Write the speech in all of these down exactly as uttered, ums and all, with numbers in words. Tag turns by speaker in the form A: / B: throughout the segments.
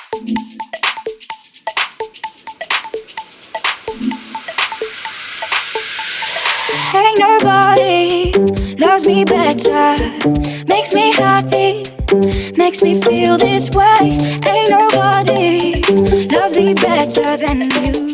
A: Ain't nobody loves me better, makes me happy, makes me feel this way. Ain't nobody loves me better than you.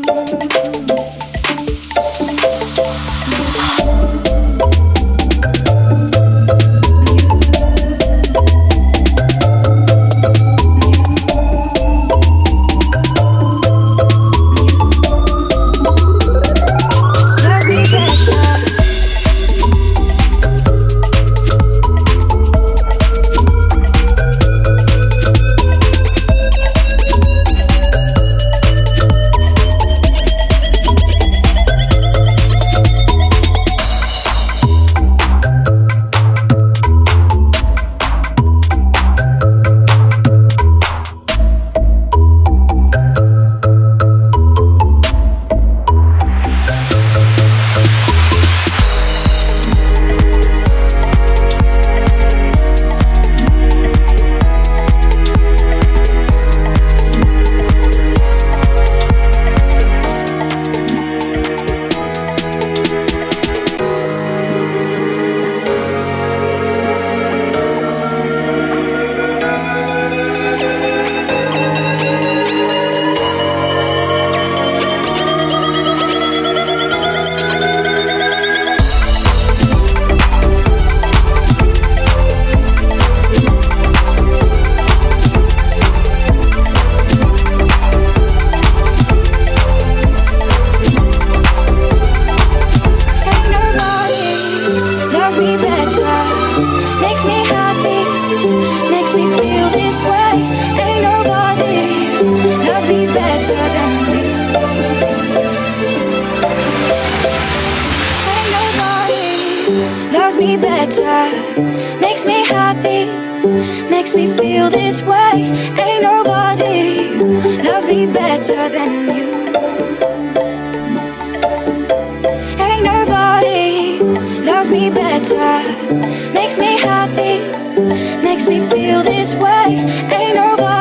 A: Loves me better, makes me happy, makes me feel this way. Ain't nobody loves me better than you. Ain't nobody loves me better, makes me happy, makes me feel this way. Ain't nobody